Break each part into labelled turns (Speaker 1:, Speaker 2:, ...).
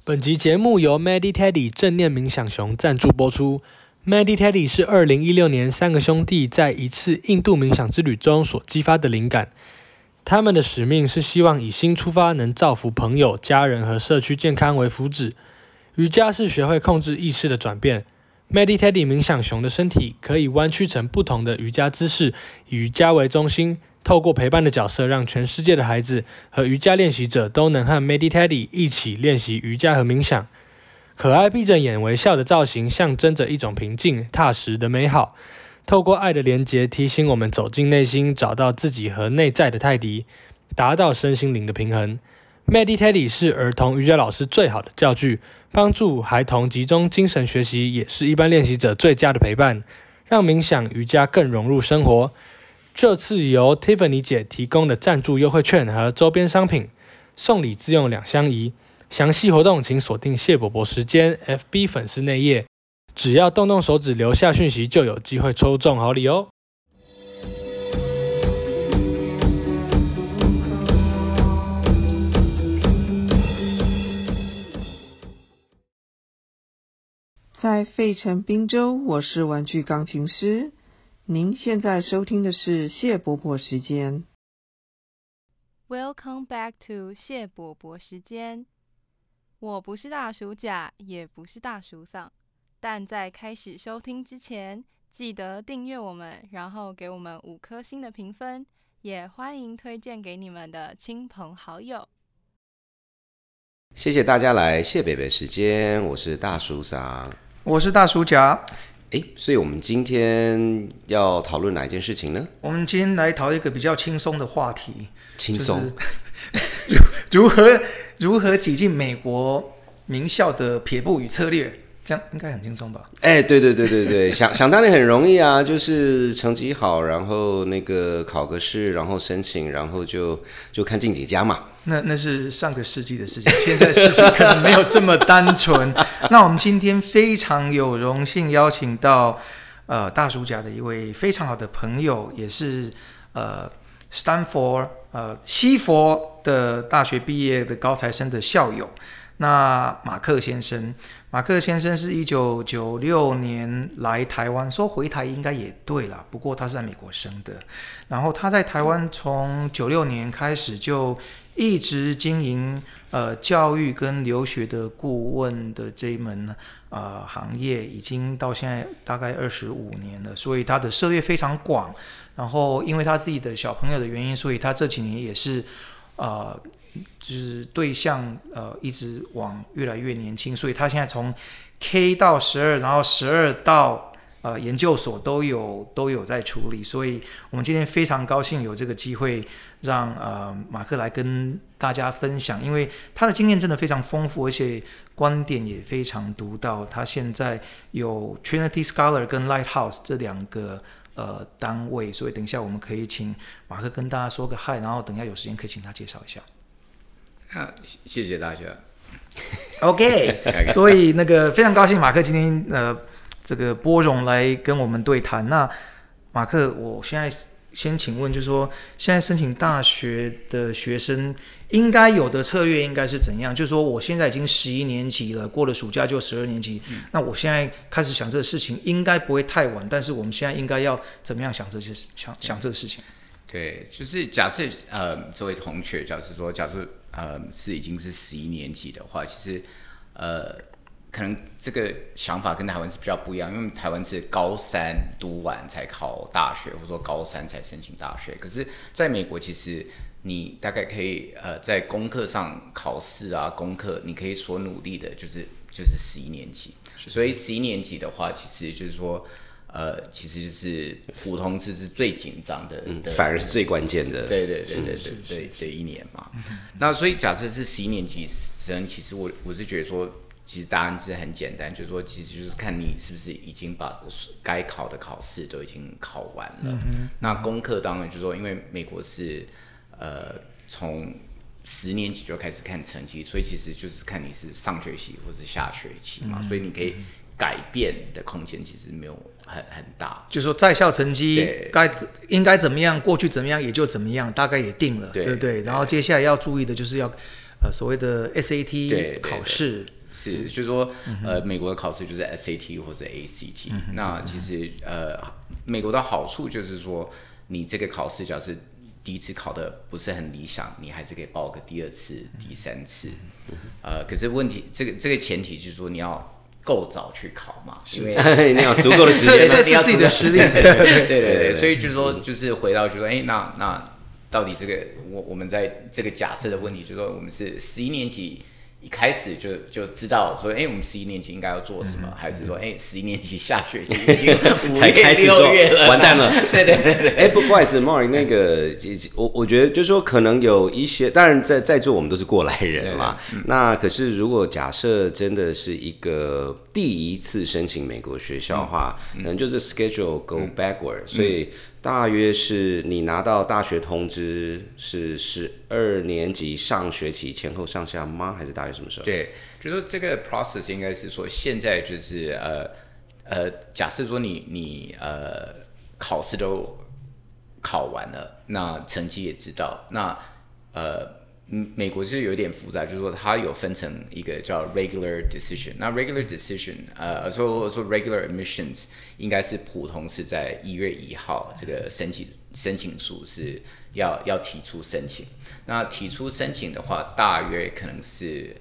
Speaker 1: 本集节目由 Mediteddy 正念冥想熊赞助播出。Mediteddy 是2016年三个兄弟在一次印度冥想之旅中所激发的灵感。他们的使命是希望以心出发，能造福朋友、家人和社区健康为福祉。瑜伽是学会控制意识的转变。Mediteddy 冥想熊的身体可以弯曲成不同的瑜伽姿势，以瑜伽为中心，透过陪伴的角色，让全世界的孩子和瑜伽练习者都能和 Mediteddy 一起练习瑜伽和冥想。可爱闭着眼微笑的造型，象征着一种平静、踏实的美好。透过爱的连结，提醒我们走进内心，找到自己和内在的泰迪，达到身心灵的平衡。Mediteddy 是儿童瑜伽老师最好的教具，帮助孩童集中精神学习，也是一般练习者最佳的陪伴，让冥想瑜伽更融入生活。这次由 Tiffany 姐提供的赞助优惠券和周边商品，送礼自用2相宜。详细活动请锁定谢伯伯时间 FB 粉丝内页，只要动动手指留下讯息，就有机会抽中好礼哦。
Speaker 2: 在费城宾州，我是玩具钢琴师。您现在收听的是谢伯伯时间。
Speaker 3: Welcome back to 谢伯伯时间。我不是大叔甲，也不是大叔桑，但在开始收听之前，记得订阅我们，然后给我们5颗星的评分，也欢迎推荐给你们的亲朋好友。
Speaker 4: 谢谢大家来谢北北时间，我是大叔桑，
Speaker 5: 我是大叔甲。
Speaker 4: 所以我们今天要讨论哪一件事情呢？
Speaker 5: 我们今天来讨论一个比较轻松的话题，
Speaker 4: 轻松，
Speaker 5: 就是如何挤进美国名校的撇步与策略，这样应该很轻松吧？
Speaker 4: 对，想当然很容易啊，就是成绩好，然后那个考个试，然后申请，然后就看进几家嘛。
Speaker 5: 那是上个世纪的事情，现在事情可能没有这么单纯。那我们今天非常有荣幸邀请到大叔甲的一位非常好的朋友，也是Stanford 西佛的大学毕业的高材生的校友。那马克先生是1996年来台湾，说回台应该也对啦，不过他是在美国生的。然后他在台湾从96年开始就一直经营教育跟留学的顾问的这一门行业，已经到现在大概25年了，所以他的涉猎非常广。然后因为他自己的小朋友的原因，所以他这几年也是就是对象一直往越来越年轻，所以他现在从 K 到12，然后12到研究所都有在处理，所以我们今天非常高兴有这个机会让马克来跟大家分享，因为他的经验真的非常丰富，而且观点也非常独到。他现在有 Trinity Scholar 跟 Lighthouse 这2个单位，所以等一下我们可以请马克跟大家说个嗨，然后等一下有时间可以请他介绍一下。
Speaker 4: 谢谢大家。
Speaker 5: OK， 所以那个非常高兴马克今天这个拨冗来跟我们对谈。那马克，我现在先请问，就是说现在申请大学的学生应该有的策略应该是怎样？就是说我现在已经11年级了，过了暑假就12年级，那我现在开始想这个事情应该不会太晚，但是我们现在应该要怎么样想这个事情？
Speaker 6: 对，就是假设这位同学，假设是已经是11年级的话，其实可能这个想法跟台湾是比较不一样，因为台湾是高3读完才考大学，或者说高3才申请大学。可是在美国，其实你大概可以在功课上考试啊，功课你可以所努力的就是11年级。所以11年级的话，其实就是说其实就是普通次是最紧张的，
Speaker 4: 反而是最关键的。
Speaker 6: 对一年嘛。那所以假设是11年级生，其实我是觉得说，其实答案是很简单，就是说其实就是看你是不是已经把该考的考试都已经考完了。那功课当然就是说，因为美国是从10年级就开始看成绩，所以其实就是看你是上学期或是下学期嘛，所以你可以改变的空间其实没有很大。
Speaker 5: 就是说在校成绩应该怎么样，过去怎么样也就怎么样，大概也定了，对不对？然后接下来要注意的就是要所谓的 SAT 考试。
Speaker 6: 是，就是说，美国的考试就是 SAT 或者 ACT。那其实美国的好处就是说，你这个考试假设第一次考的不是很理想，你还是可以报个第二次、第三次。可是问题，这个前提就是说你要够早去考嘛，因为
Speaker 4: 你要足够的时间，
Speaker 5: 测试自己的实力。
Speaker 6: 对，所以就是说，就是回到就是说，那到底这个我们在这个假设的问题，就是说我们是11年级。一开始就知道说，我们11年级应该要做什么，还是说，11年级下学期已经
Speaker 4: 才开始说完蛋了？
Speaker 6: 对。
Speaker 4: 不好意思 ，Mark， 那个我觉得就是说，可能有一些，当然在座我们都是过来人嘛。那可是如果假设真的是一个第一次申请美国学校的话，可能就是 schedule go backward，所以。大约是你拿到大学通知是12年级上学期前后上下吗？还是大约什么时候？
Speaker 6: 对，就是说这个 process 应该是说现在就是假设说你考试都考完了，那成绩也知道，那美国就是有点复杂，就是说它有分成一个叫 regular decision。那 regular decision，说 regular admissions 应该是普通是在1月1号这个申请书是要提出申请。那提出申请的话，大约可能是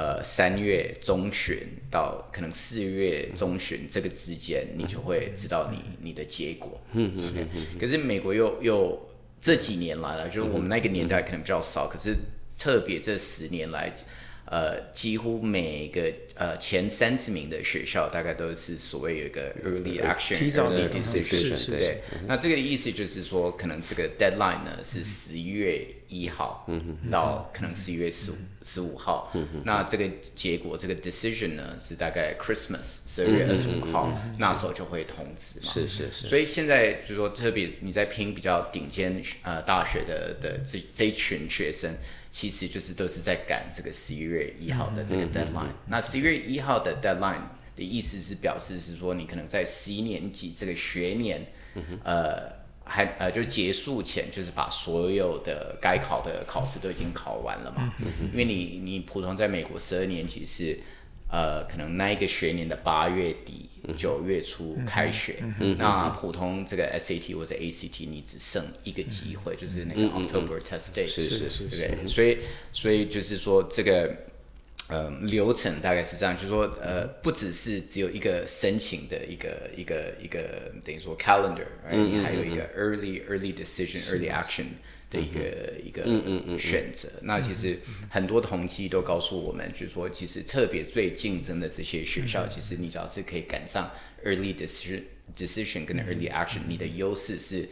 Speaker 6: 3月中旬到可能4月中旬这个之间，你就会知道你的结果。可是美国又这几年来了，就是我们那个年代可能比较少，可是特别这10年来，几乎每个前30名的学校大概都是所谓有一个 early action、early decision， 对。那这个意思就是说，可能这个 deadline 呢是11月1号到可能11月15号，那这个结果这个 decision 呢是大概 Christmas 12月25号，那时候就会通知嘛。
Speaker 4: 是。
Speaker 6: 所以现在就是说，特别你在拼比较顶尖大学的这一群学生。其实就是都是在赶这个11月1号的这个 deadline。那11月1号的 deadline 的意思是表示是说，你可能在11年级这个学年，就结束前，就是把所有的该考的考试都已经考完了嘛。因为你普通在美国12年级是可能那一个学年的8月底、9月初开学，那普通这个 SAT 或者 ACT 你只剩一个机会，就是那个 October test date，对不对？所以就是说这个流程大概是这样，就是说不只是只有一个申请的一个等于说 calendar， 你还有一个 early decision、early action。的一个选择，那其实很多统计都告诉我们，就是说，其实特别最竞争的这些学校，其实你只要是可以赶上 early decision 跟 early action， 你的优势是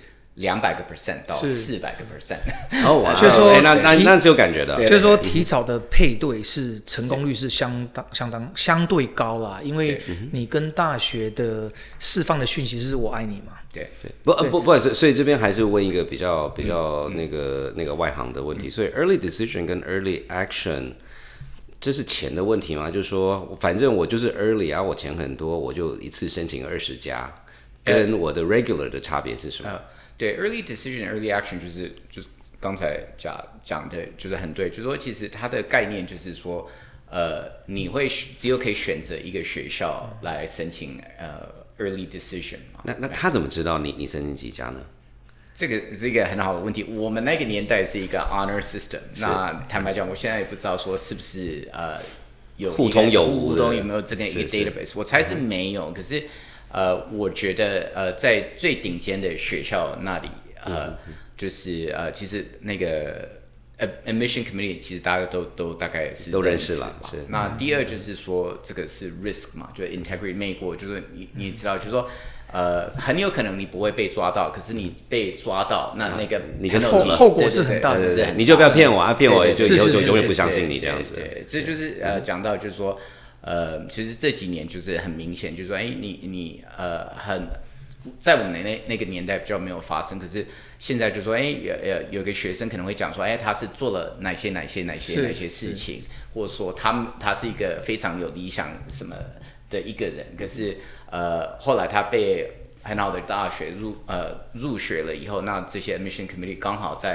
Speaker 6: 200% 到400%。
Speaker 4: 哦，
Speaker 5: 就是说
Speaker 4: 那是有感觉的。
Speaker 5: 就是说提早的配对是成功率是相对高啦，因为你跟大学的释放的讯息是我爱你嘛。
Speaker 6: 对，
Speaker 4: 不好意思，所以这边还是问一个比较那个外行的问题。所以 early decision 跟 early action， 这是钱的问题吗？就是说，反正我就是 early 啊，我钱很多，我就一次申请20家，跟我的 regular 的差别是什么？
Speaker 6: 对 ，early decision、early action 就是刚才讲的，就是很对，就是说其实它的概念就是说，你会只有可以选择一个学校来申请early decision 嘛。
Speaker 4: 那他怎么知道你申请几家呢？
Speaker 6: 这个是一个很好的问题。我们那个年代是一个 honor system， 那坦白讲，我现在也不知道说是不是有
Speaker 4: 互通有
Speaker 6: 没有这个一个 database， 我猜是没有。可是我觉得在最顶尖的学校那里，就是其实那个admission committee 其实大家都大概是
Speaker 4: 都认识了。
Speaker 6: 那第二就是说这个是 risk 嘛，就是 integrity。美国就是你知道，就是说很有可能你不会被抓到，可是你被抓到，那个
Speaker 4: 你就死了，
Speaker 5: 后果是很大的。
Speaker 4: 你就不要骗我啊，骗我就以后就永远不相信你这样子。
Speaker 6: 对，这就是讲到就是说其实这几年就是很明显，就是说你在我们那个年代比较没有发生，可是现在就说，有个学生可能会讲说，他是做了哪些事情，或者说他是一个非常有理想什么的一个人，可是后来他被很好的大学入学了以后，那这些 admission committee 刚好在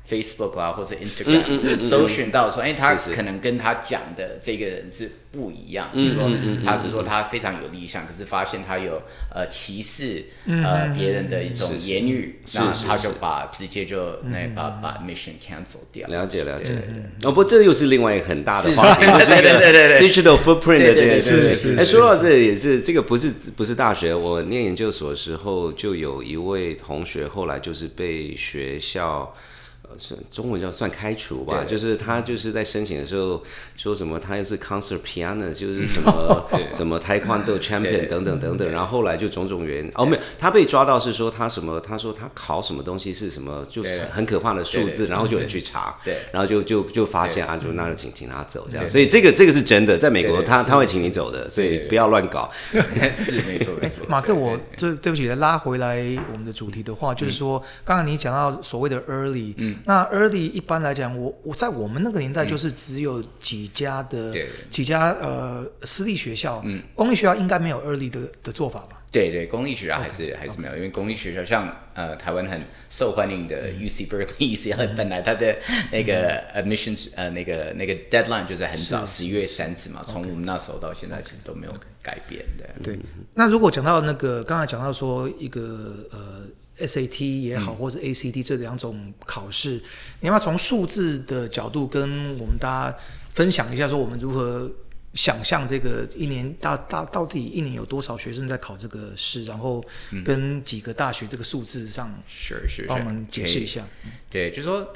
Speaker 6: Facebook 啦，或是 Instagram 搜寻到说，他可能跟他讲的这个人是不一样。比如说，他是说他非常有理想，可是发现他有歧视别人的一种言语，那他就直接就把 mission cancel 掉。
Speaker 4: 了解。不过这又是另外一个很大的话题，就是一个 digital footprint 的这个事。说到这也是这个不是大学，我念研究所的时候就有一位同学后来就是被学校。中文叫算开除吧，就是他就是在申请的时候说什么他又是 concert piano， 就是什么什么 taekwondo champion 等等，然后后来就种种原因没有，他被抓到是说他什么，他说他考什么东西是什么，就是很可怕的数字，然后就有人去查，然后就发现就那就请他走这样，所以这个是真的，在美国他会请你走的，所以不要乱搞。
Speaker 6: 是没错。
Speaker 5: 马克，我对不起，拉回来我们的主题的话，就是说刚刚你讲到所谓的 early，那 early 一般来讲，我在我们那个年代就是只有几家私立学校，公立学校应该没有 early 的做法吧？
Speaker 6: 对，公立学校还是没有，因为公立学校像台湾很受欢迎的 UC Berkeley， 本来它的那个 admissions 那个 deadline 就是很早11月30嘛，从我们那时候到现在其实都没有改变的。
Speaker 5: 对，那如果讲到那个刚才讲到说一个SAT 也好，或是 ACT 这两种考试，你要不要从数字的角度跟我们大家分享一下，说我们如何想象这个一年到底一年有多少学生在考这个试，然后跟几个大学这个数字上，帮我们解释一下。
Speaker 6: 对，就是说，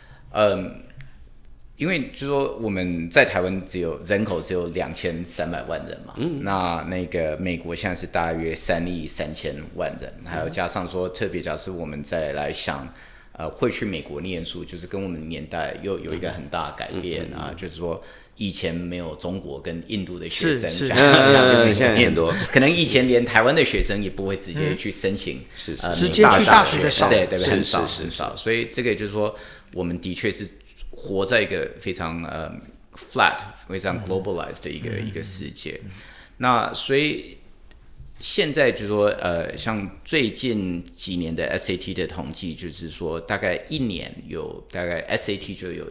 Speaker 6: 因为就是说我们在台湾人口只有2300万人嘛，那个美国现在是大约3亿3000万人，还有加上说特别假设我们再来想，会去美国念书，就是跟我们年代又有一个很大的改变就是说以前没有中国跟印度的学生，
Speaker 4: 现在很多，
Speaker 6: 可能以前连台湾的学生也不会直接去申请，
Speaker 5: 直接去大学的少，
Speaker 6: 对，很少，所以这个就是说我们的确是活在一个非常flat、非常 globalized 的一个世界。那所以现在就是说像最近几年的 SAT 的统计，就是说大概一年有大概 SAT 就有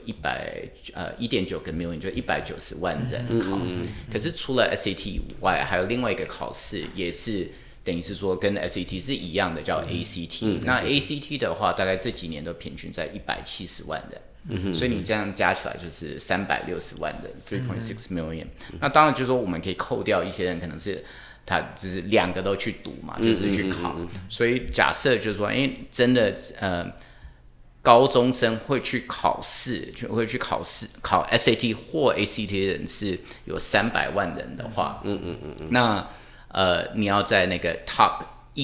Speaker 6: 1.9个 million， 就190万人考。可是除了 SAT 以外，还有另外一个考试也是。等于是说跟 SAT 是一样的，叫 ACT。那 ACT 的话，大概这几年都平均在170万人，所以你这样加起来就是360万人 ，3.6 million。那当然就是说我们可以扣掉一些人，可能是他就是两个都去读嘛，就是去考。所以假设就是说，真的高中生会去考试，考 SAT 或 ACT 的人是有300万人的话，那你要在那个 top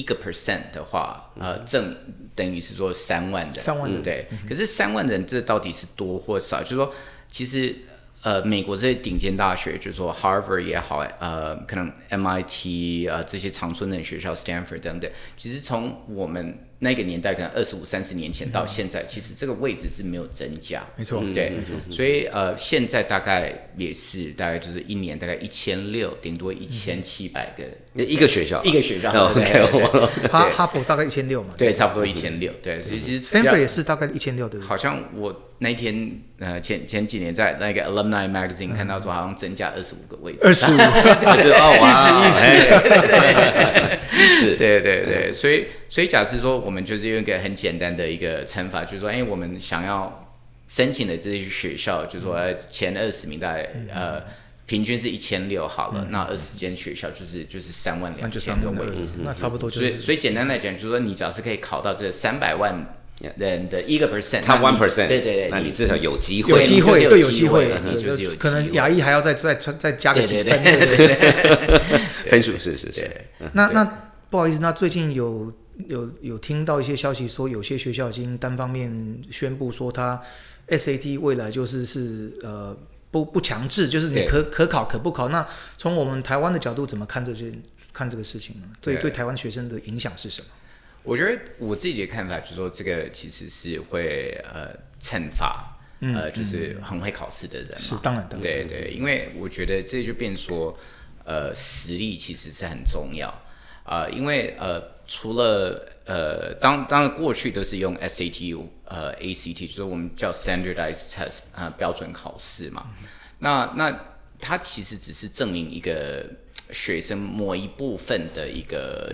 Speaker 6: 1% 的话，等于是说3万人，对。可是3万人这到底是多或少？就是说，其实美国这些顶尖大学，就是说 Harvard 也好，可能 MIT 这些常春藤学校 Stanford 等等，其实从我们那个年代，可能25-30年前到现在，其实这个位置是没有增加，
Speaker 5: 没错，
Speaker 6: 对，没错。所以现在大概也是大概就是一年大概1600，顶多1700个
Speaker 4: 一个学校，
Speaker 5: 哈佛大概1600嘛，
Speaker 6: 对，差不多1600，对。其实
Speaker 5: Stanford 也是大概1000六的，
Speaker 6: 好像我那天前几年在那个 Alumni Magazine 看到说好像增加25个位置
Speaker 5: ，25，
Speaker 6: 意思，是，对，所以假设说我们就是用一个很简单的一个乘法，就是说，我们想要申请的这些学校，就是说前20名大概平均是1600好了，那20间学校就是32000个位置，
Speaker 5: 那差不多就是。
Speaker 6: 所以简单来讲，就是说你只要是可以考到这300万人的1%，
Speaker 4: 他 1%，
Speaker 6: 对，
Speaker 4: 那你至少有机会，
Speaker 5: 有机会，
Speaker 6: 你就是有机会，
Speaker 5: 可能亚裔还要再加个几分，
Speaker 4: 分数是。
Speaker 5: 那不好意思，那最近有听到一些消息说，有些学校已经单方面宣布说，他 SAT 未来就是不强制，就是你可考可不考。那从我们台湾的角度，怎么看这个事情呢？对台湾学生的影响是什么？
Speaker 6: 我觉得我自己的看法就是说，这个其实是会惩罚就是很会考试的人嘛。
Speaker 5: 是当然，
Speaker 6: 对，因为我觉得这就变说实力其实是很重要。 因为除了当然过去都是用 SAT ACT， 就是我们叫 standardized test 标准考试嘛。那它其实只是证明一个学生某一部分的一个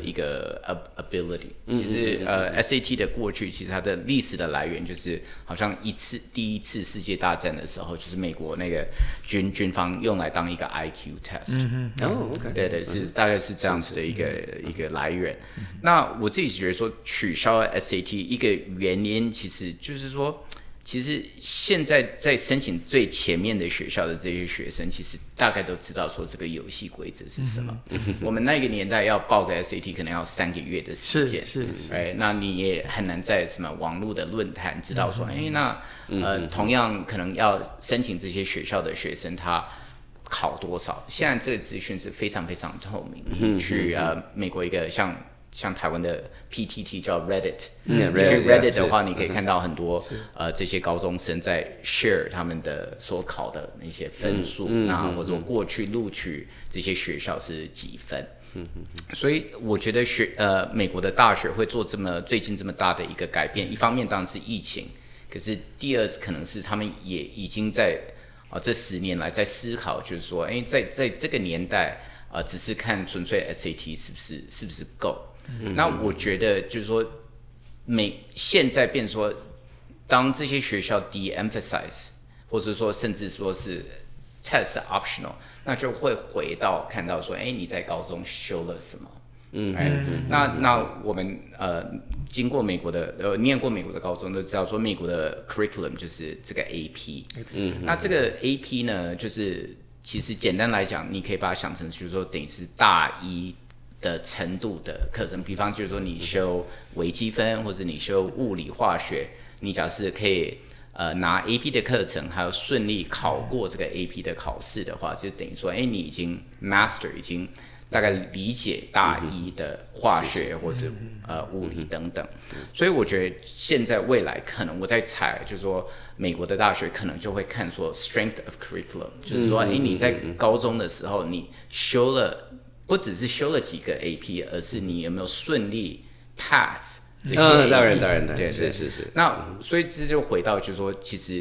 Speaker 6: ability。其实SAT 的过去其实它的历史的来源就是好像第一次世界大战的时候，就是美国那个军方用来当一个 IQ test。
Speaker 4: OK，
Speaker 6: 对，大概是这样子的一个来源。那我自己觉得说取消 SAT 一个原因，其实就是说，其实现在在申请最前面的学校的这些学生，其实大概都知道说这个游戏规则是什么。我们那个年代要报个 SAT 可能要3个月的时间，
Speaker 5: 是，
Speaker 6: 那你也很难在什么网络的论坛知道说，同样可能要申请这些学校的学生他考多少。现在这个资讯是非常非常透明。你去美国一个像台湾的 PTT 叫 Reddit， 你去 Reddit 的话，你可以看到很多这些高中生在 share 他们的所考的那些分数，或者说过去录取这些学校是几分。所以我觉得美国的大学会做最近这么大的一个改变，一方面当然是疫情，可是第二可能是他们也已经在这10年来在思考，就是说，在这个年代只是看纯粹 SAT 是不是够。那我觉得就是说，现在变说，当这些学校 de-emphasize， 或者说甚至说是 test optional， 那就会回到看到说，你在高中修了什么？那我们经过美国的念过美国的高中都知道说，美国的 curriculum 就是这个 AP。那这个 AP 呢，就是其实简单来讲，你可以把它想成就是说，等于是大一的程度的课程。比方就是说，你修微积分或者你修物理化学，你假设可以拿 AP 的课程，还有顺利考过这个 AP 的考试的话，就等于说，你已经 master， 已经大概理解大一的化学或是物理等等。所以我觉得现在未来可能我在猜，就是说美国的大学可能就会看说 strength of curriculum， 就是说你在高中的时候你不只是修了几个 AP， 而是你有没有顺利 pass 这些 AP。
Speaker 4: 当然，
Speaker 6: 对，是。那所以这就回到就是说，其实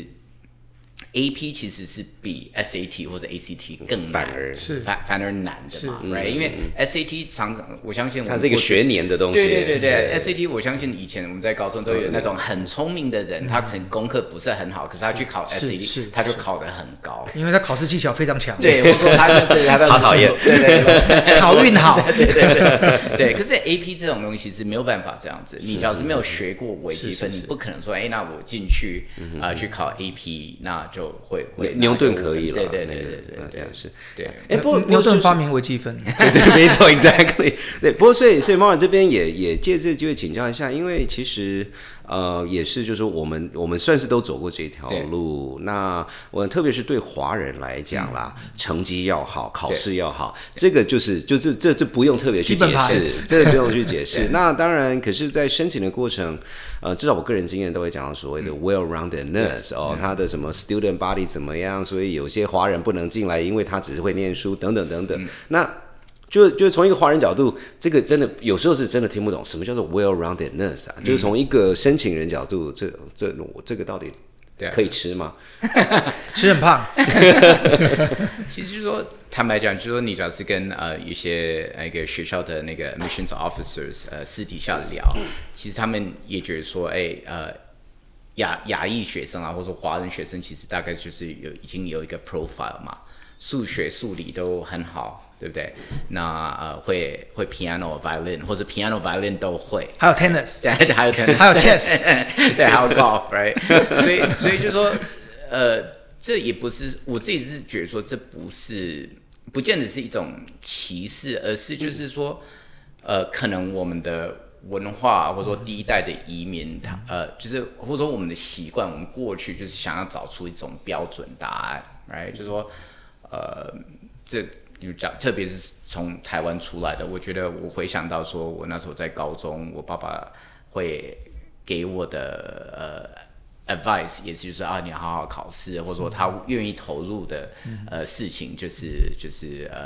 Speaker 6: AP 其实是比 SAT 或者 ACT 更难，反而难的嘛， right？ 因为 SAT 常常我相信它
Speaker 4: 是一个学年的东西，
Speaker 6: 对 SAT 我相信以前我们在高中都有那种很聪明的人，他功课不是很好，可是他去考 SAT 他就考得很高，
Speaker 5: 因为他考试技巧非常强，
Speaker 6: 对，或者说他就是
Speaker 4: 好讨厌，
Speaker 5: 对，考运好，
Speaker 6: 对。可是 AP 这种东西是没有办法这样子，你只要是没有学过微积分，你不可能说那我进去去考 AP， 那就会
Speaker 4: 牛顿可以了，
Speaker 6: 对，
Speaker 4: 是，
Speaker 6: 对。
Speaker 5: 不过牛顿发明微积分，
Speaker 4: 对，没错 ，exactly。对，不过所以猫儿这边也借这个机会请教一下，因为其实也是就是说我们算是都走过这条路。那我特别是对华人来讲啦，成绩要好，考试要好，这个就是这不用特别去解释，这个不用去解释。那当然，可是，在申请的过程，至少我个人经验都会讲到所谓的 well-roundedness 他的什么 student body 怎么样，所以有些华人不能进来，因为他只是会念书等等。那就从一个华人角度，这个真的有时候是真的听不懂什么叫做 well-roundedness 就是从一个申请人角度，这个到底可以吃吗？
Speaker 5: 吃很胖。
Speaker 6: 其实就是说，坦白讲，就是说，你只要是跟一些那个学校的那个 admissions officers 私底下聊，其实他们也觉得说，亚裔学生啊，或者说华人学生，其实大概就是已经有一个 profile 嘛，数学、数理都很好，对不对？那会 piano、violin 或者 piano、violin 都会，
Speaker 5: 还有 tennis，
Speaker 6: 对，还有 tennis，
Speaker 5: 还有 chess，
Speaker 6: 对，还有 golf，right？ 所以就说，这也不是我自己是觉得说，这不见得是一种歧视，而是就是说，可能我们的文化或者说第一代的移民，就是或者说我们的习惯，我们过去就是想要找出一种标准答案 ，right？ 就是说，这就讲，特别是从台湾出来的，我觉得我回想到说，我那时候在高中，我爸爸会给我的advice 也是就是你好好考试，或者说他愿意投入的事情就是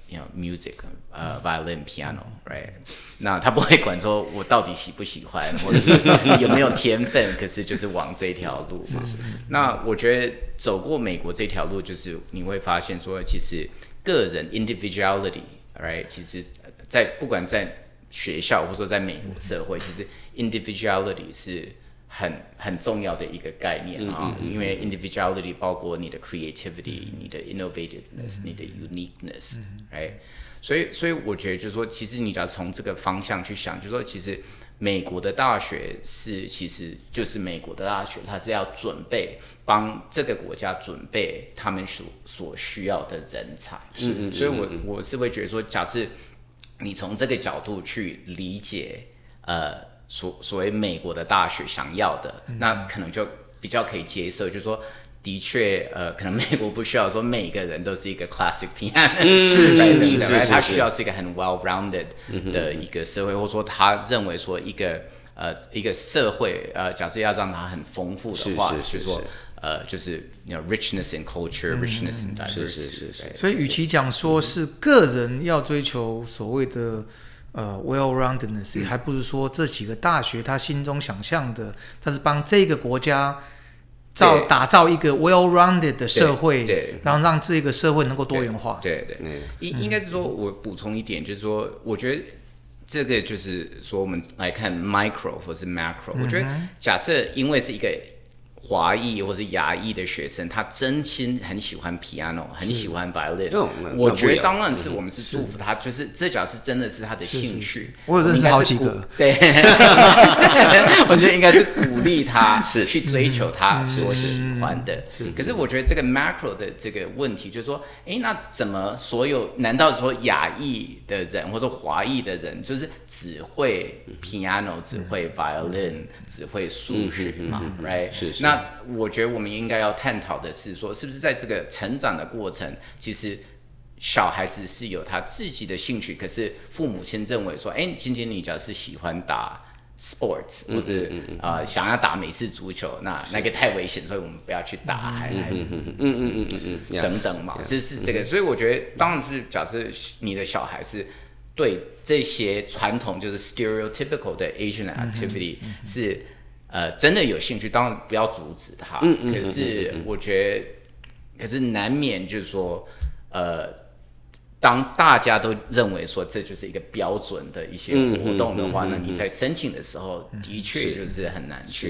Speaker 6: music violin piano right， 那他不会管说我到底喜不喜欢或者有没有天分，可是就是往这条路嘛。那我觉得走过美国这条路，就是你会发现说，其实个人 individuality right， 其实不管在学校或者说在美国社会，其实 individuality 是很重要的一个概念啊，因为 individuality 包括你的 creativity、你的 innovativeness、你的 uniqueness，right？ 所以我觉得就是说，其实你只要从这个方向去想，就是说，其实美国的大学其实就是美国的大学，它是要准备帮这个国家准备他们所需要的人才。所以我是会觉得说，假设你从这个角度去理解所谓美国的大学想要的，那可能就比较可以接受，就是说，的确，可能美国不需要说每个人都是一个 classic piano， 是，他需要是一个很 well-rounded 的一个社会，或者说他认为说一个社会，假设要让它很丰富的话，就是说。就是 richness in culture，richness in diversity。
Speaker 5: 所以，与其讲说是个人要追求所谓的well-roundedness，还不如说这几个大学他心中想象的，他是帮这个国家打造一个 well-rounded 的社会，然后让这个社会能够多元化。
Speaker 6: 对，应该是说，我补充一点，就是说，我觉得这个就是说，我们来看 micro 或是 macro，我觉得假设因为是一个华裔或是亚裔的学生，他真心很喜欢 piano， 很喜欢 violin， 我觉得当然是我们是祝福他，就是这假设真的是他的兴趣。
Speaker 5: 我有认识好几个，
Speaker 6: 对，我觉得应该是鼓励他去追求他所喜欢的。可是我觉得这个 macro 的这个问题就是说，那怎么难道说亚裔的人或者华裔的人就是只会 piano， 只会 violin， 只会数学嘛 ，right？ 是。那我觉得我们应该要探讨的是说，是不是在这个成长的过程，其实小孩子是有他自己的兴趣，可是父母先认为说，今天你只要是喜欢打 sports， 或是想要打美式足球，那个太危险，所以我们不要去打，还是等等嘛，是这个。所以我觉得，当然是假设你的小孩是对这些传统就是 stereotypical 的 Asian activity 是。真的有兴趣，当然不要阻止他。可是我觉得，可是难免就是说，当大家都认为说这就是一个标准的一些活动的话，那你在申请的时候，的确就是很难去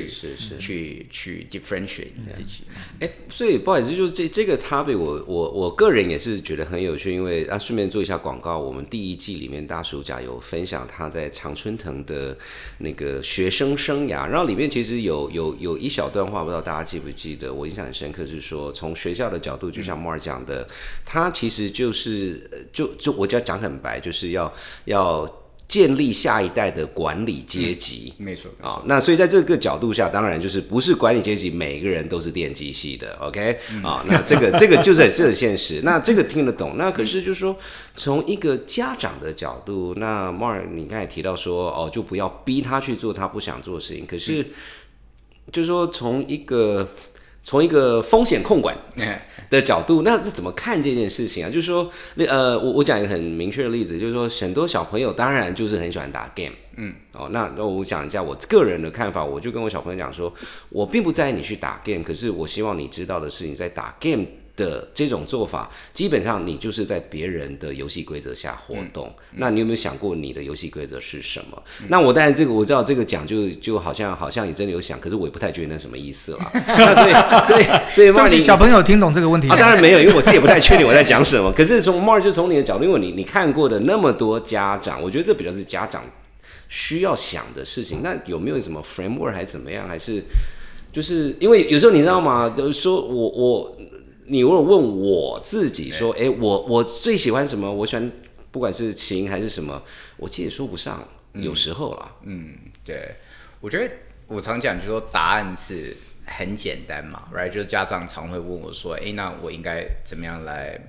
Speaker 6: differentiate 你自己。
Speaker 4: 所以不好意思，就是这个 topic， 我个人也是觉得很有趣，因为顺便做一下广告，我们第一季里面大暑甲有分享他在常春藤的那个学生生涯，然后里面其实有一小段话，不知道大家记不记得，我印象很深刻，是说从学校的角度，就像 Mark 讲的，他其实就是就我就要讲很白，就是要建立下一代的管理阶级，
Speaker 6: 没错
Speaker 4: 啊。那所以在这个角度下，当然就是不是管理阶级每个人都是电机系的 ，OK？啊，那这个就是很现实。那这个听得懂。那可是就是说，从一个家长的角度，那 Mark 你刚才提到说，就不要逼他去做他不想做的事情。可是就是说，从一个风险控管的角度，那是怎么看这件事情啊？就是说，我讲一个很明确的例子，就是说，很多小朋友当然就是很喜欢打 game，那我讲一下我个人的看法，我就跟我小朋友讲说，我并不在意你去打 game， 可是我希望你知道的是，你在打 game的这种做法，基本上你就是在别人的游戏规则下活动。那你有没有想过你的游戏规则是什么？那我当然我知道这个讲就好像也真的有想，可是我也不太觉得那什么意思啦。那所以
Speaker 5: 对不起，小朋友听懂这个问题吗？
Speaker 4: 当然没有，因为我自己也不太确定我在讲什么。可是从 Mark 就从你的角度，因为你看过的那么多家长，我觉得这比较是家长需要想的事情。那有没有什么 framework 还是怎么样？还是就是因为有时候你知道吗？就是说你如果问我自己说，我最喜欢什么？我喜欢不管是琴还是什么，我其实也说不上，有时候啦。
Speaker 6: 对，我觉得我常讲就是说答案是很简单嘛 ，right？ 就是家长常会问我说，那我应该怎么样来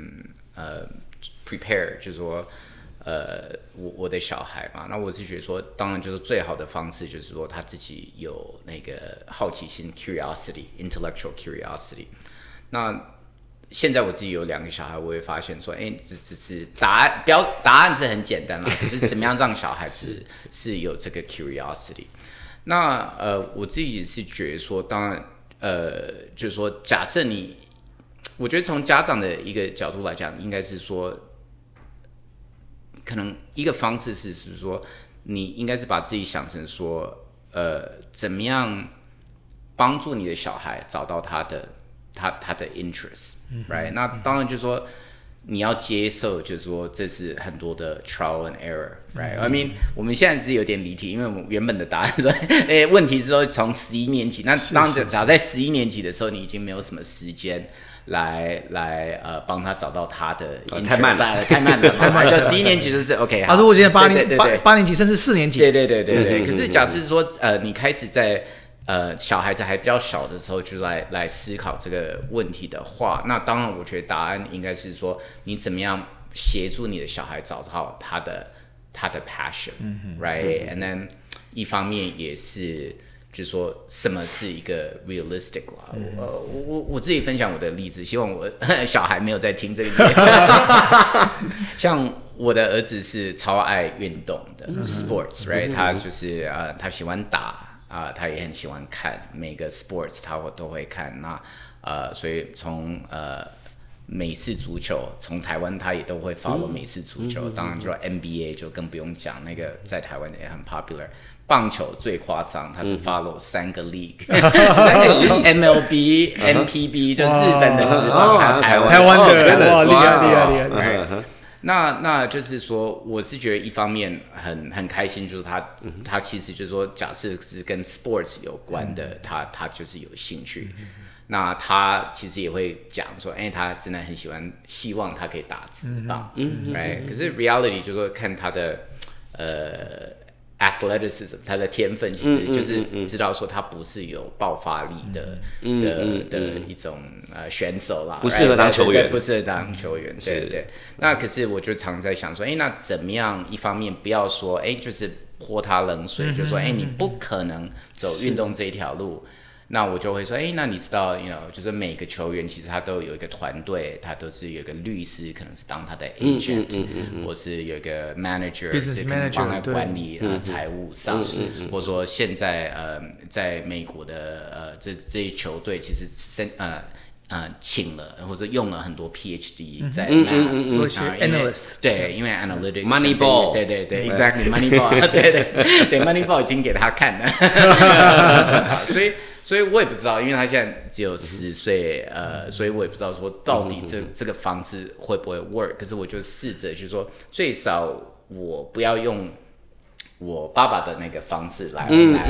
Speaker 6: prepare？ 就是说我的小孩嘛，那我是觉得说，当然就是最好的方式就是说他自己有那个好奇心 （curiosity）、intellectual curiosity。那现在我自己有2个小孩，我会发现说，只是答案是很简单啦，可是怎么样让小孩子是有这个 curiosity？ 那我自己是觉得说，当然就是说，假设我觉得从家长的一个角度来讲，应该是说，可能一个方式是说，你应该是把自己想成说，怎么样帮助你的小孩找到他的 interest，right？ 那当然就是说你要接受，就是说这是很多的 trial and error，right？I mean， 我们现在是有点离题，因为我们原本的答案说，问题是说从11年级，那当然假如在11年级的时候，你已经没有什么时间来帮他找到他的 interest， 太慢了，就11年级就是 OK。
Speaker 5: 如果今天8年级甚至4年级，
Speaker 6: 对。可是假设说你开始在小孩子还比较小的时候就来思考这个问题的话，那当然我觉得答案应该是说，你怎么样协助你的小孩找到他的 passion，right？And then 一方面也是就是说什么是一个 realistic 啦。我自己分享我的例子，希望我小孩没有在听这个。像我的儿子是超爱运动的 sports，right？ 他就是他喜欢打。他也很喜欢看每个 sports， 他都会看。那所以从美式足球，从台湾他也都会 follow 美式足球。当然，就 NBA 就更不用讲，那个在台湾也很 popular。棒球最夸张，他是 follow 3个 league， MLB、NPB 就日本的职棒，还有
Speaker 5: 台湾的，哇，厉
Speaker 6: 害。那就是说，我是觉得一方面很开心，就是他其实就是说，假设是跟 sports 有关的，他就是有兴趣。那他其实也会讲说，他真的很希望他可以打职棒，right？ 可是 reality 就是说看他的athleticism， 他的天分其实就是知道说他不是有爆发力的一种选手啦，
Speaker 4: 不适合当球员，
Speaker 6: 不适合当球员，对。那可是我就常在想说，那怎么样？一方面不要说，就是泼他冷水，就说，你不可能走运动这一条路。那我就会说，那你知道 就是每个球员其实他都有一个团队，他都是有一个律师，可能是当他的 agent，或是有一个 manager， 是可能帮他管理财务上，或者说现在在美国的这些球队其实请了或者用了很多 PhD 在
Speaker 5: analyst，
Speaker 6: 对，因为 analytics
Speaker 4: Moneyball，
Speaker 6: 对 exactly Moneyball， 对 Moneyball 已经给他看了，所以我也不知道，因为他现在只有10岁，所以我也不知道说到底这个方式会不会 work。可是我就试着就是说，最少我不要用我爸爸的那个方式来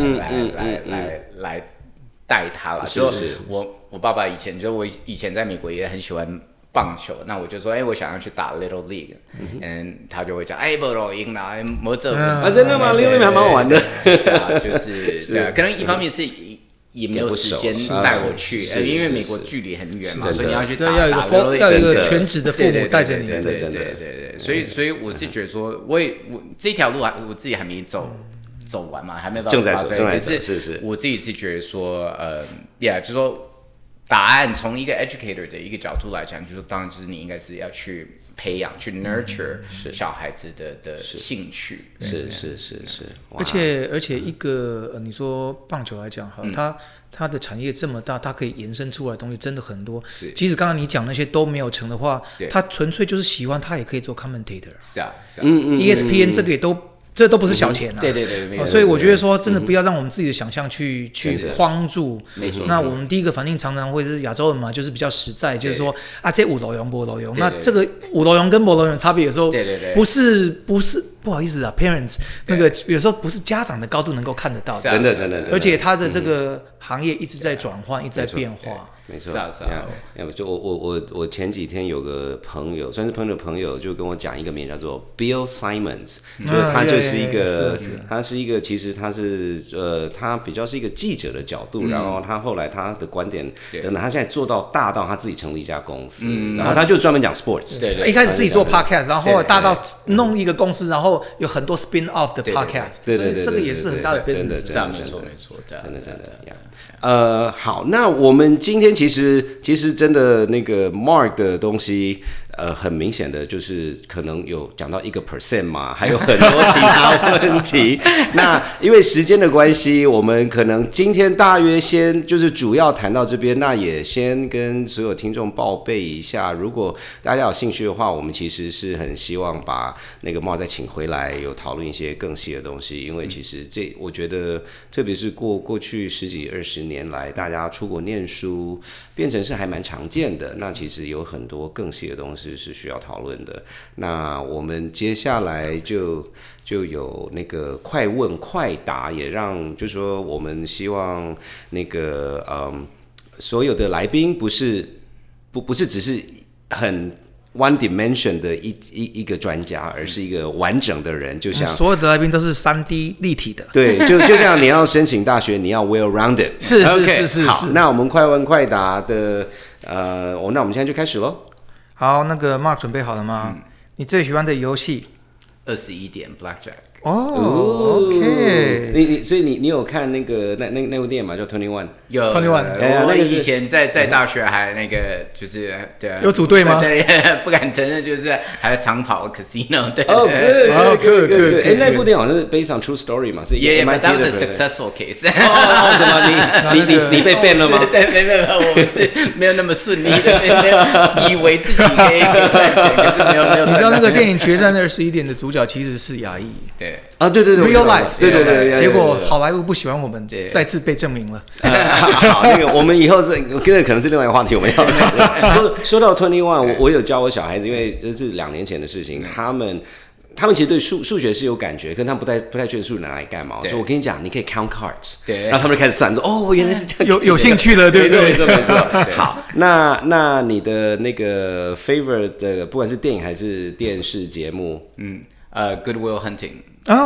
Speaker 6: 带他了。就是我爸爸我以前在美国也很喜欢棒球，那我就说，我想要去打 Little League，他就会讲，不咯，赢了，没这
Speaker 4: 真的吗？ Little League 还蛮好玩的，
Speaker 6: 对啊，就是对啊，可能一方面是也没有时间带我去，因为美国距离很远嘛，所以你要去打，
Speaker 5: 要有一个全职的父母带着你，
Speaker 6: 对，所以我是觉得说，我这条路我自己还没走完嘛，还没有到18岁，可是我自己是觉得说，就是说答案从一个 educator 的一个角度来讲，就是当然就是你应该是要去培养、去 nurture 小孩子的兴趣，
Speaker 4: 是，
Speaker 5: 而且一个你说棒球来讲哈，它的产业这么大，它可以延伸出来的东西真的很多。即使刚刚你讲那些都没有成的话，他纯粹就是喜欢，他也可以做 commentator。
Speaker 6: 是啊
Speaker 5: ，ESPN 这个也这都不是小钱啊！
Speaker 6: 对，
Speaker 5: 所以我觉得说，真的不要让我们自己的想象去框住。
Speaker 6: 没错。
Speaker 5: 那我们第一个反应常常会是亚洲人嘛，就是比较实在，就是说这有路用没路用。那这个有路用跟没路用差别有时候不是不好意思啊 ，parents 那个有时候不是家长的高度能够看得到的。
Speaker 4: 真的。
Speaker 5: 而且他的这个行业一直在转换，一直在变化。
Speaker 4: 没错，就我前几天有个朋友，算是朋友的朋友，就跟我讲一个名叫做 Bill Simmons， 就是他就是一个，他是一个，其实他是他比较是一个记者的角度，然后他后来他的观点等等，他现在做到大到他自己成立一家公司，然后他就专门讲 sports，
Speaker 5: 对，一开始自己做 podcast， 然后后来大到弄一个公司，然后有很多 spin off 的 podcast，
Speaker 4: 对，
Speaker 5: 这个也是很大的 business，
Speaker 6: 没错，
Speaker 4: 真的。 好，那我们今天其实真的那个 Mark 的东西，很明显的就是可能有讲到1% 嘛，还有很多其他问题。那因为时间的关系，我们可能今天大约先就是主要谈到这边，那也先跟所有听众报备一下，如果大家有兴趣的话，我们其实是很希望把那个 Mark 再请回来，有讨论一些更细的东西，因为其实我觉得，特别是过去10几20年来，大家出国念书变成是还蛮常见的。那其实有很多更细的东西是需要讨论的。那我们接下来就有那个快问快答，也让就是说我们希望那个所有的来宾不是只是很one dimension 的一个专家，而是一个完整的人，就像
Speaker 5: 所有的来宾都是3D 立体的。
Speaker 4: 对，就像你要申请大学，你要 well rounded。
Speaker 5: 是
Speaker 4: okay， 好，那我们快问快答的那我们现在就开始咯。
Speaker 5: 好，那个 Mark 准备好了吗？你最喜欢的游戏
Speaker 6: ？21点 Blackjack。
Speaker 5: OK。
Speaker 4: 所以你有看那个那部电影吗？叫21？
Speaker 6: 有
Speaker 5: 21。
Speaker 6: 我以前在大学还那个就是对，
Speaker 5: 有组队吗？
Speaker 6: 对，不敢承认，就是还有长跑 casino。对。
Speaker 4: good。那部电影好像是 based on true story 嘛，是
Speaker 6: MIT 的 successful case。
Speaker 4: 怎么你被 ban 了吗？
Speaker 6: 对，没有，我们是没有那么顺利的，没有以为自己可以赚钱，可是没有。
Speaker 5: 你知道那个电影《决战21点》的主角其实是亚裔。
Speaker 6: 对。
Speaker 4: 对
Speaker 5: ，Real life。
Speaker 4: 对。
Speaker 5: 结果好莱坞不喜欢我们，再次被证明了。
Speaker 4: 好，那个我们以后这可能是另外一个话题，我们要说到21，我有教我小孩子，因为这是2年前的事情，他们其实对数学是有感觉，可是他们不太确定数学拿来干嘛。所以我跟你讲，你可以 count cards， 对，然后他们就开始算，说原来是这样，
Speaker 5: 有兴趣了，对不对？
Speaker 4: 没错。好，那你的那个 favorite 的，不管是电影还是电视节目
Speaker 6: ，Good Will Hunting。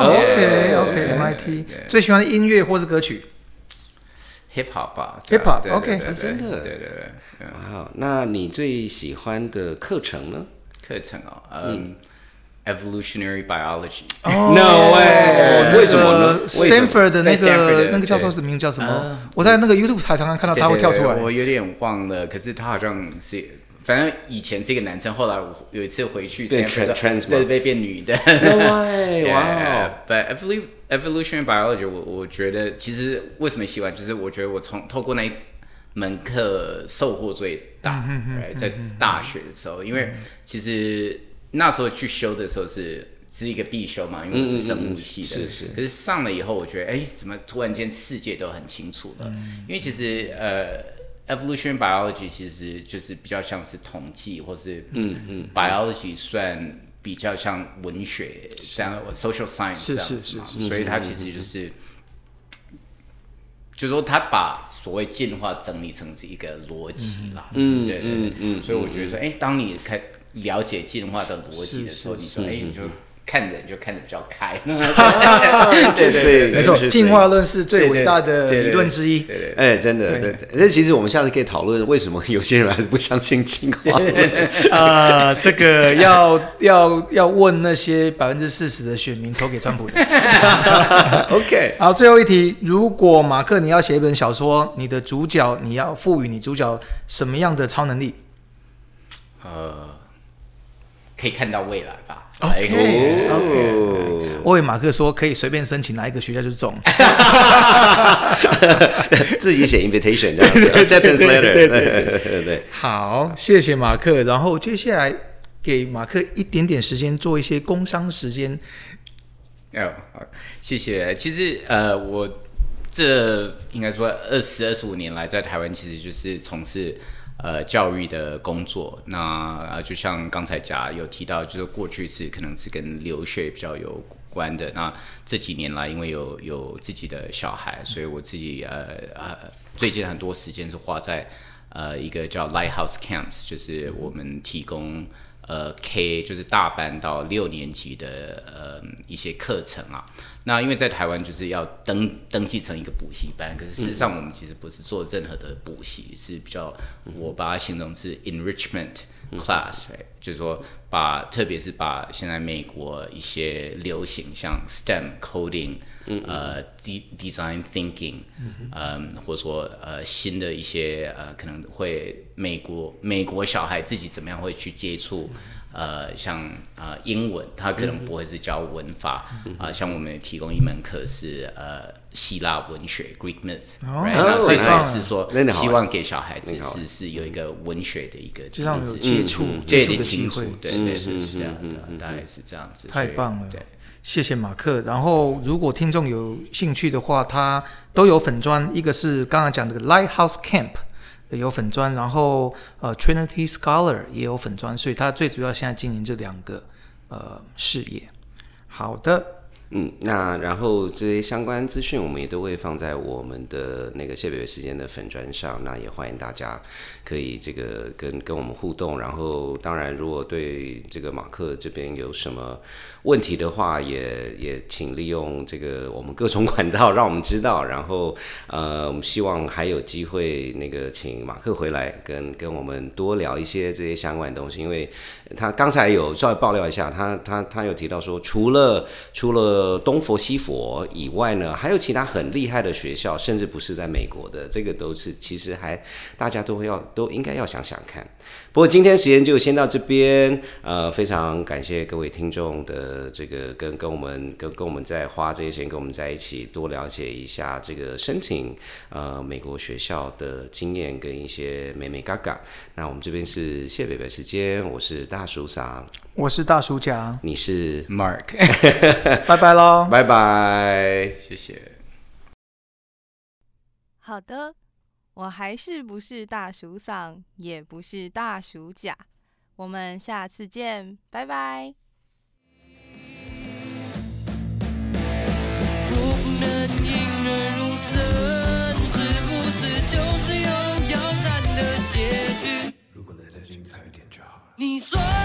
Speaker 5: OK，MIT 最喜欢的音乐或是歌曲
Speaker 6: ，Hip Hop 吧
Speaker 5: ，Hip Hop，OK，
Speaker 4: 真的，对。哇，那你最喜欢的课程呢？
Speaker 6: 课程Evolutionary Biology。
Speaker 4: No way， 为什么呢
Speaker 5: ？Stanford 的那个教授的名字叫什么？我在那个 YouTube 台常常看到他会跳出来，
Speaker 6: 我有点忘了，可是他好像是。反正以前是一个男生，后来我有一次回去，
Speaker 4: 对，
Speaker 6: 被变女的。
Speaker 4: No way， 哇
Speaker 6: ！But evolutionary biology， 我觉得其实为什么喜欢，就是我觉得我透过那一门课收获最大。在大学的时候，因为其实那时候去修的时候是一个必修嘛，因为我是生物系的。是。可是上了以后，我觉得怎么突然间世界都很清楚了？因为其实Evolutionary biology 其实就是比较像是统计，或是biology 算比较像文学这样 social science 这样子嘛，所以它其实就是说它把所谓进化整理成是一个逻辑啦，对，所以我觉得说，当你了解进化的逻辑的时候，你说，你就看着比较开，
Speaker 5: 对，没错，进化论是最伟大的理论之一。
Speaker 4: 真的，对。那其实我们下次可以讨论为什么有些人还是不相信进化论。
Speaker 5: 这个要问那些40%的选民投给川普的。
Speaker 4: OK，
Speaker 5: 好，最后一题，如果马克你要写一本小说，你的主角你要赋予你主角什么样的超能力？
Speaker 6: 可以看到未来吧。
Speaker 5: OK， 我以为马克说可以随便申请哪一个学校就是中，
Speaker 4: 自己写 invitation， acceptance letter， 对。
Speaker 5: 好，谢谢马克。然后接下来给马克一点点时间做一些工商时间。
Speaker 6: 好，谢谢。其实我这应该说25年来在台湾，其实就是从事教育的工作。那就像刚才有提到，就是过去可能是跟留学比较有关的。那这几年来，因为有自己的小孩，所以我自己最近很多时间是花在一个叫 Lighthouse Camps， 就是我们提供K 就是大班到6年级的一些课程啊。那因为在台湾就是要登记成一个补习班，可是事实上我们其实不是做任何的补习，是比较我把它形容是 enrichment class，就是说特别是把现在美国一些流行像 STEM coding、design thinking，或者说新的一些可能会美国小孩自己怎么样会去接触。像英文，他可能不会是教文法像我们也提供一门课是希腊文学 Greek myth，right？ 那最主要是说希望给小孩子是有一个文学的一个
Speaker 5: 就让有接触
Speaker 6: 的
Speaker 5: 机会，
Speaker 6: 对，是这样的，大概是这样子。
Speaker 5: 太棒了，
Speaker 6: 对，
Speaker 5: 谢谢马克。然后如果听众有兴趣的话，他都有粉专，一个是刚刚讲的 Lighthouse Camp。有粉专，然后Trinity Scholar 也有粉专，所以他最主要现在经营这2个事业。好的。
Speaker 4: 那然后这些相关资讯我们也都会放在我们的那个谢北北时间的粉专上，那也欢迎大家可以这个跟我们互动。然后当然如果对这个马克这边有什么问题的话，也请利用这个我们各种管道让我们知道。然后我们希望还有机会那个请马克回来跟我们多聊一些这些相关的东西，因为他刚才有稍微爆料一下，他有提到说除了东佛西佛以外呢，还有其他很厉害的学校，甚至不是在美国的，这个都是其实还大家都应该要想想看。不过今天时间就先到这边，非常感谢各位听众的这个跟我们在花这些时间跟我们在一起多了解一下这个申请美国学校的经验跟一些美美嘎嘎。那我们这边是谢北北时间，我是大叔桑，
Speaker 5: 我是大叔甲，
Speaker 4: 你是
Speaker 6: Mark，
Speaker 5: 拜拜咯，
Speaker 4: 拜拜，
Speaker 6: 谢谢。
Speaker 3: 好的，我还是不是大叔桑，也不是大叔甲，我们下次见，拜拜。
Speaker 7: 若不能引人入胜，是不是就是有要战的结局？如果能再精彩一点就好了。你说。